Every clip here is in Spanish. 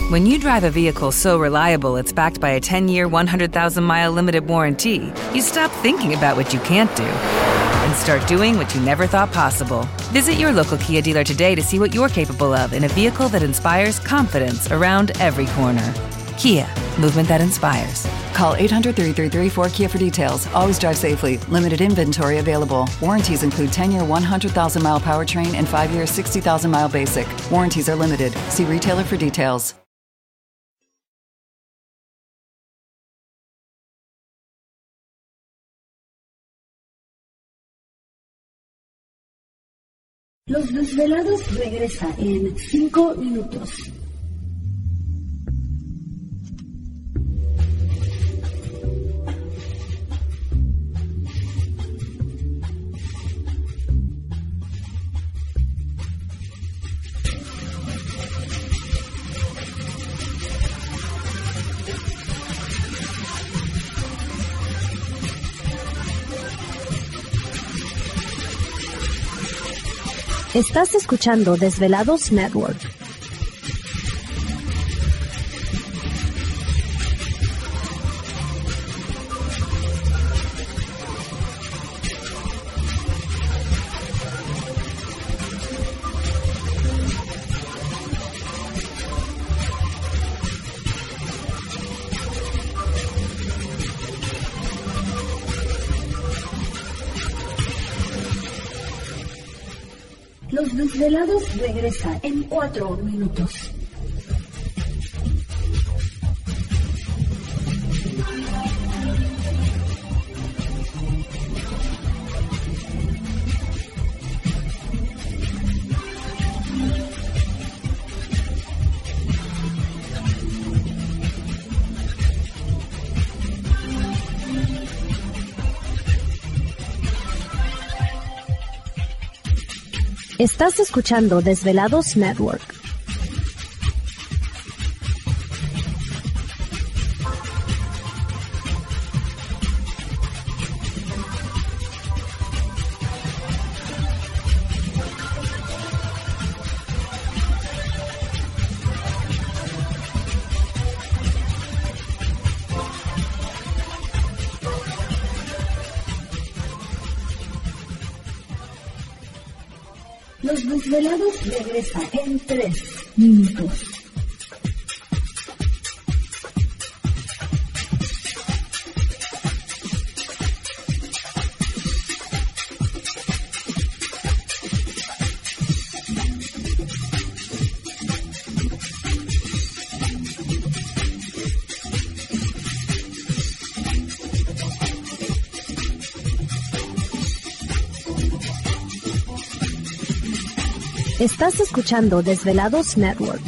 When you drive a vehicle so reliable it's backed by a 10-year, 100,000-mile limited warranty, you stop thinking about what you can't do and start doing what you never thought possible. Visit your local Kia dealer today to see what you're capable of in a vehicle that inspires confidence around every corner. Kia, movement that inspires. Call 800-333-4KIA for details. Always drive safely. Limited inventory available. Warranties include 10-year 100,000-mile powertrain and 5-year 60,000-mile basic. Warranties are limited. See retailer for details. Los Desvelados regresa en 5 minutos. Estás escuchando Desvelados Network. Los Desvelados regresa en 4 minutos. Estás escuchando Desvelados Network. Los Desvelados regresa en 3 minutos. Estás escuchando Desvelados Network.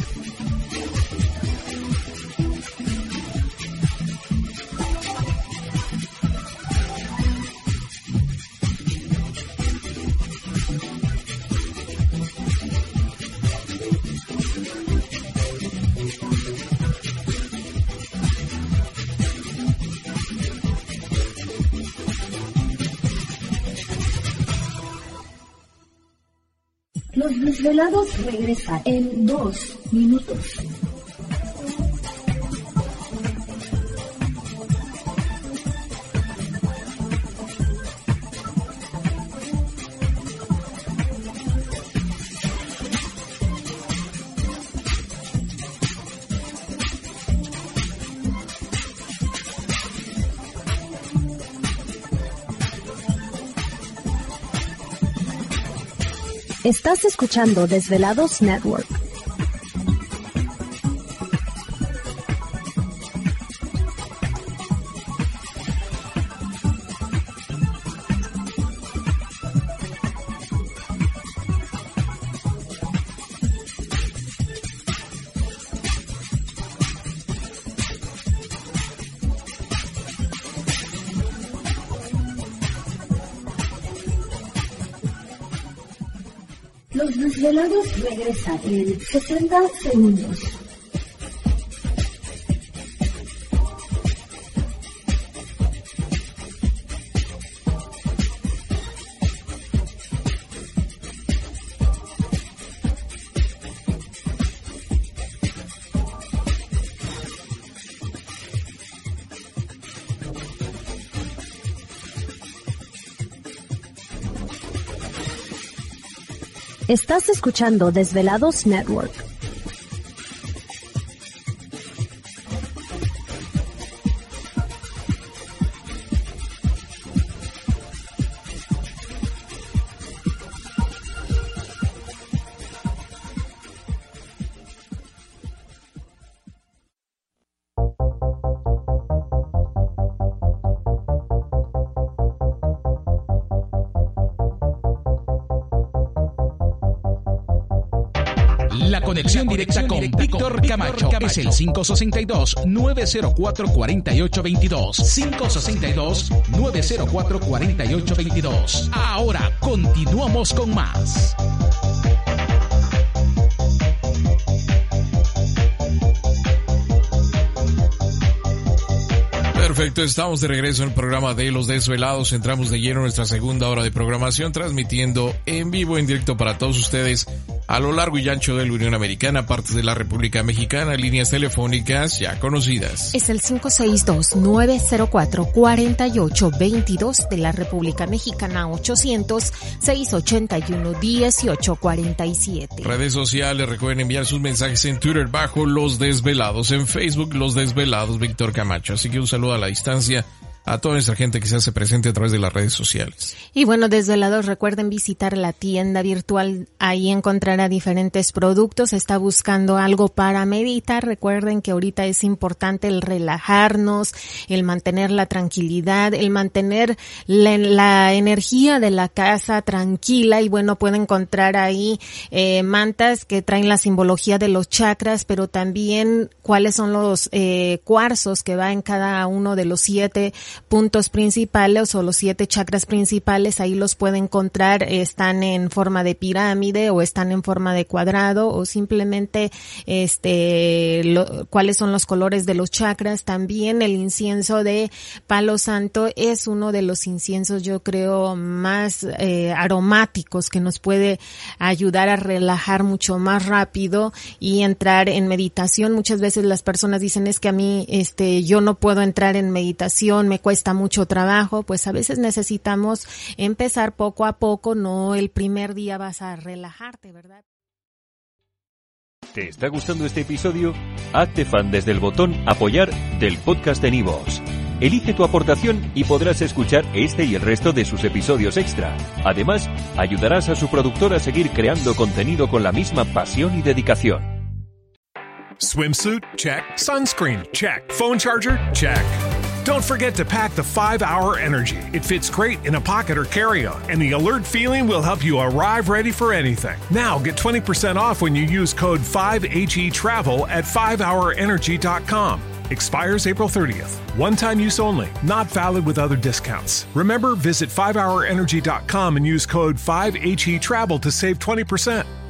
Los Desvelados regresa en 2 minutos. Estás escuchando Desvelados Network. Los Desvelados regresa en 60 segundos. Estás escuchando Desvelados Network. La conexión directa con Víctor Camacho es el 562-904-4822. 562-904-4822. Ahora continuamos con más. Perfecto, estamos de regreso en el programa de Los Desvelados. Entramos de lleno en nuestra segunda hora de programación, transmitiendo en vivo, en directo para todos ustedes a lo largo y ancho de la Unión Americana, partes de la República Mexicana, líneas telefónicas ya conocidas. Es el 562-904-4822 de la República Mexicana, 800-681-1847. Redes sociales, recuerden enviar sus mensajes en Twitter bajo Los Desvelados, en Facebook Los Desvelados Víctor Camacho. Así que un saludo a la distancia a toda nuestra gente que se hace presente a través de las redes sociales. Y bueno, Desvelados, recuerden visitar la tienda virtual, ahí encontrará diferentes productos. Está buscando algo para meditar. Recuerden que ahorita es importante el relajarnos, el mantener la tranquilidad, el mantener la energía de la casa tranquila. Y bueno, pueden encontrar ahí mantas que traen la simbología de los chakras, pero también cuáles son los cuarzos que va en cada uno de los 7 puntos principales o los 7 chakras principales. Ahí los puede encontrar, están en forma de pirámide o están en forma de cuadrado, o simplemente cuáles son los colores de los chakras. También el incienso de palo santo es uno de los inciensos, yo creo, más aromáticos, que nos puede ayudar a relajar mucho más rápido y entrar en meditación. Muchas veces las personas dicen, es que a mí yo no puedo entrar en meditación, me cuesta mucho trabajo. Pues a veces necesitamos empezar poco a poco, no el primer día vas a relajarte, ¿verdad? ¿Te está gustando este episodio? Hazte fan desde el botón Apoyar del podcast de Nivos. Elige tu aportación y podrás escuchar este y el resto de sus episodios extra. Además, ayudarás a su productor a seguir creando contenido con la misma pasión y dedicación. Swimsuit? Check. Sunscreen? Check. Phone charger? Check. Don't forget to pack the 5-Hour Energy. It fits great in a pocket or carry-on, and the alert feeling will help you arrive ready for anything. Now get 20% off when you use code 5HETRAVEL at 5hourenergy.com. Expires April 30th. One-time use only. Not valid with other discounts. Remember, visit 5hourenergy.com and use code 5HETRAVEL to save 20%.